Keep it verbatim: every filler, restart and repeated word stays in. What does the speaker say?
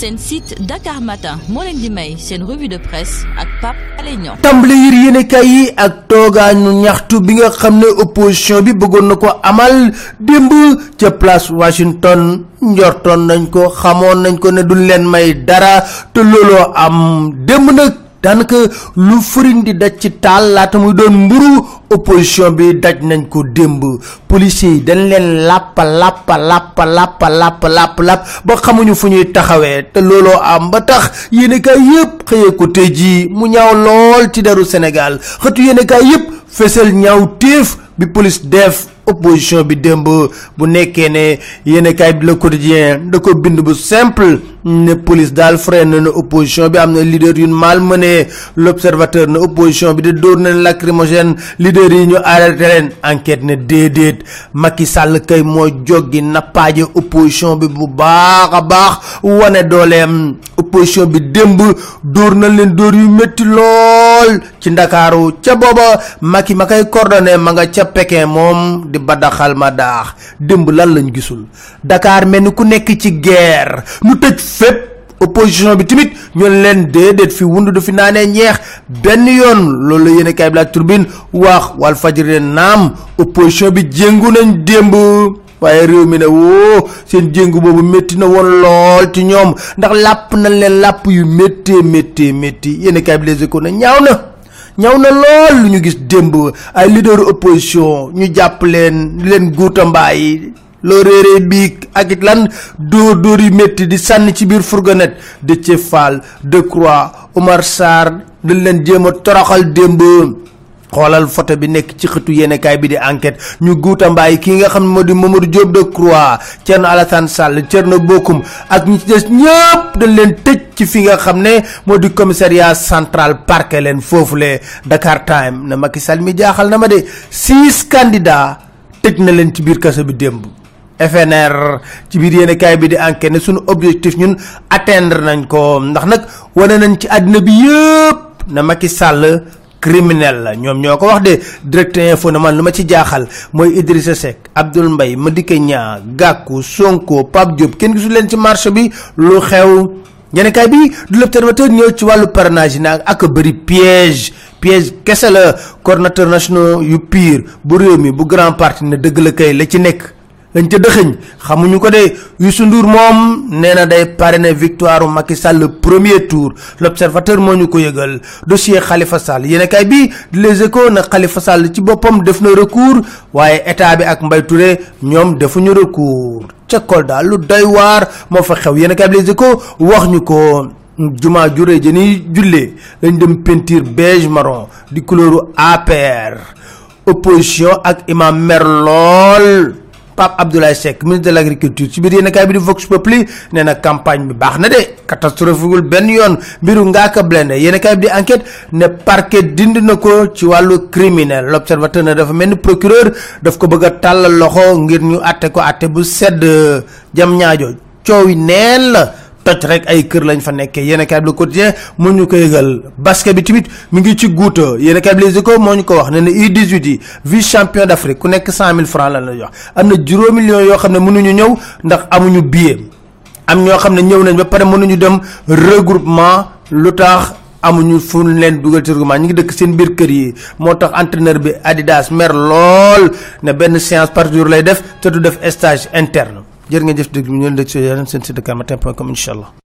seen site Dakar Matin moo leen di may seen revue de presse ak Pape Alé Niang. tàmbali yir yéenekaay yi ak toogaanu ñaxtu bi nga xam ne opposition bi bëggoon na ko amal démb ca place Washington njortoon nañ ko xamoon nañ ko ne duñ leen may dara te looloo am démb nag daanaka lu fëriñ di daj ci taal laata muy doon mburu opposition bi daj nañ ko démb policiers yi dañ leen làppa làppa làppa làppa làppa làpp làpp ba xamuñu fu ñuy taxawee te looloo am ba tax yéenekaay yépp xëyee ko tey jii mu ñaaw lool ci deru Sénégal xëtu yéenekaay yépp fesal ñaaw téef bi police def opposition bi démb bu nekkee ne yéenekaay bi Le Quotidien da ko bind bu simple ne police daal freiné na opposition bi am na leader yu malmené. L'Observateur ne opposition bi de dóor na lacrymogène leader yi ñu arrêté leen enquête ne déedéet Macky Sall kay moo joggi nappaaje opposition bi bu baax a baax wane dooleem opposition bi démb dóor na leen dóor yu métti lool ci Ndakaaru ca booba Macky ma koy coordonné ma nga ca Pékin moom di badaxal ma daax démb lan lañ gisul Dakar mel ni ku nekk ci guerre ñu tëj fépp opposition bi tamit ñu leen déedéet fi wundu du fi naanee ñeex benn yoon loolu la yéenekaay bi La Tribune wax Walf Fadjri naam opposition bi jéngu nañ démb waaye réew mi ne woo seen jéngu boobu métti na woon lool ci ñoom ndax làpp nañ leen làpp yu méttee méttee métti yéenekaay bi Les Échos na ñaaw na ñaw na lool lu ñu gis démb ay leader opposition ñu jàpp leen leen guuta mbaay loo réeree biig ak it lan dóor dóor yu métti di sànni ci biir fourgonnette Déthié Fall Decroix Omar Sarr dañ leen jéem a toroxal démb xoolal photo bi nekk ci xëtu yéenekaay bi di enquête ñu guuta mbaay kii nga xam ne moo di Mamadou Diop Decroix Thierno Alassane Sall Thierno Bocoum ak ñi ci des ñëpp dañ leen tëj ci fi nga xam ne moo di commissariat central parquet leen foofule. Dakar Time ne Macky Sall mi jaaxal na ma de six candidats tëj na leen ci biir kaso bi démb. F N R ci biir yéenekaay bi di enquête ne suñu objectif ñun atteindre nañ ko ndax nag wane nañ ci àddina bi yëpp ne Macky Sall criminel la ñoom ñoo ko wax de Direct Info ne man lu ma ci jaaxal mooy Idrissa Seck Abdoul Mbaye Madické Niang Gakou Sonko Pape Diop kenn gisul leen ci marché bi lu xew. yéenekaay bi du L'Observateur ñëw ci wàllu parrainage yi nag ak bëri piège piège kese la coordonnateur national yu pire bu réew mi bu grand parti ne dëgg la kay la ci nekk lañ ca dëxëñ xamuñu ko de Youssou Ndour moom nee na day parrainer victoire Macky Sall le premier tour. L'Observateur moo ñu ko yëgal dossier Khalifa Sall yéenekaay bi Les Échos na Khalifa Sall ci boppam def na recours waaye état bi ak Mbaye Touré ñoom defuñu recours. ca Kolda lu doy waar moo fa xew yéenekaay bi Les Échos wax ñu ko jumaa juree jëni jullee lañ dem peinture beige marron di couleuru A P R opposition ak imam mer lool. Pape Abdoulaye Seck ministre de l'agriculture ci biir yéenekaay bi di Vox Populi nee na campagne bi baax na de catastrophique benn yoon mbiru Ngaaka Blindé yéenekaay bi di enquête ne parquet dindi na ko ci wàllu criminel. L'Observateur ne dafa mel ni procureur daf ko bëgg a tàllal loxo ngir ñu àtte ko àtte bu sedd jam ñaajo coow yi neen la toj rek ay kër lañ fa nekkee yéenekaay bi Le Quotidien moo ñu ko yëgal basket bi tamit mi ngi ci guuta yéenekaay bi Les Échos moo ñu ko wax ne ne U dix-huit yi vice champion d'Afrique ku nekk cent mille francs lan la jox am na juróomi millions yoo xam ne mënuñu ñëw ndax amuñu billet am ñoo xam ne ñëw nañ ba pare mënuñu dem regroupement lu tax amuñu fu leen dugal ci regroupement ñu ngi dëkk seen biir kër yi moo tax entraîneur bi Adidas mer lool ne benn séance par jour lay def te du def stage interne jërë ngeen jëf dëgg ñu leen dëgg seen site dakar matin point com incha allah.